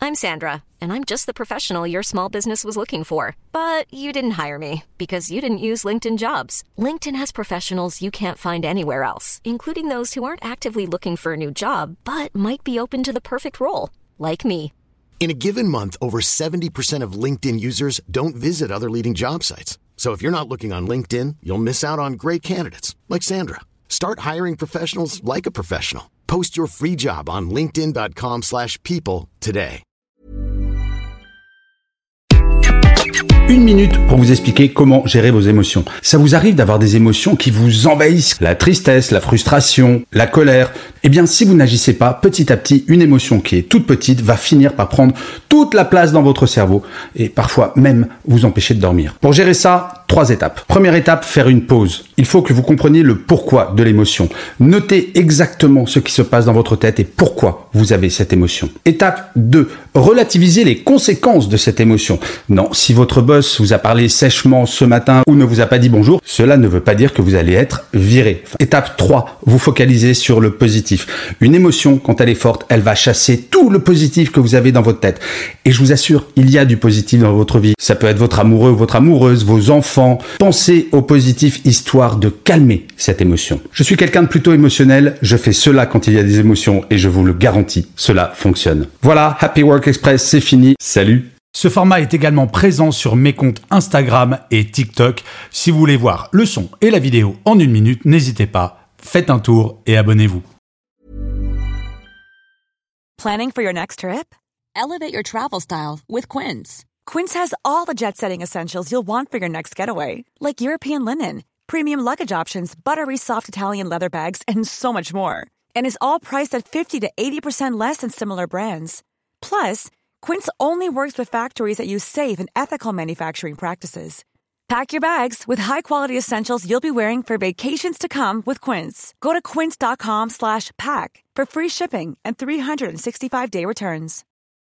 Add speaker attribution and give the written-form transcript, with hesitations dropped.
Speaker 1: I'm Sandra, and I'm just the professional your small business was looking for. But you didn't hire me because you didn't use LinkedIn Jobs. LinkedIn has professionals you can't find anywhere else, including those who aren't actively looking for a new job, but might be open to the perfect role, like me.
Speaker 2: In a given month, over 70% of LinkedIn users don't visit other leading job sites. So if you're not looking on LinkedIn, you'll miss out on great candidates like Sandra. Start hiring professionals like a professional. Post your free job on linkedin.com/people today.
Speaker 3: Une minute pour vous expliquer comment gérer vos émotions. Ça vous arrive d'avoir des émotions qui vous envahissent, la tristesse, la frustration, la colère. Eh bien, si vous n'agissez pas, petit à petit, une émotion qui est toute petite va finir par prendre toute la place dans votre cerveau et parfois même vous empêcher de dormir. Pour gérer ça, 3 étapes. Première étape, faire une pause. Il faut que vous compreniez le pourquoi de l'émotion. Notez exactement ce qui se passe dans votre tête et pourquoi vous avez cette émotion. Étape 2, relativiser les conséquences de cette émotion. Non, si votre boss vous a parlé sèchement ce matin ou ne vous a pas dit bonjour, cela ne veut pas dire que vous allez être viré. Étape 3, vous focalisez sur le positif. Une émotion, quand elle est forte, elle va chasser tout le positif que vous avez dans votre tête. Et je vous assure, il y a du positif dans votre vie. Ça peut être votre amoureux ou votre amoureuse, vos enfants. Pensez au positif histoire de calmer cette émotion. Je suis quelqu'un de plutôt émotionnel, je fais cela quand il y a des émotions et je vous le garantis, cela fonctionne. Voilà, Happy Work Express, c'est fini. Salut! Ce format est également présent sur mes comptes Instagram et TikTok. Si vous voulez voir le son et la vidéo en 1 minute, n'hésitez pas, faites un tour et abonnez-vous.
Speaker 4: Planning for your next trip? Elevate your travel style with Quince. Quince has all the jet-setting essentials you'll want for your next getaway, like European linen, premium luggage options, buttery soft Italian leather bags, and so much more. And is all priced at 50 to 80% less than similar brands. Plus, Quince only works with factories that use safe and ethical manufacturing practices. Pack your bags with high-quality essentials you'll be wearing for vacations to come with Quince. Go to quince.com/pack for free shipping and 365-day returns.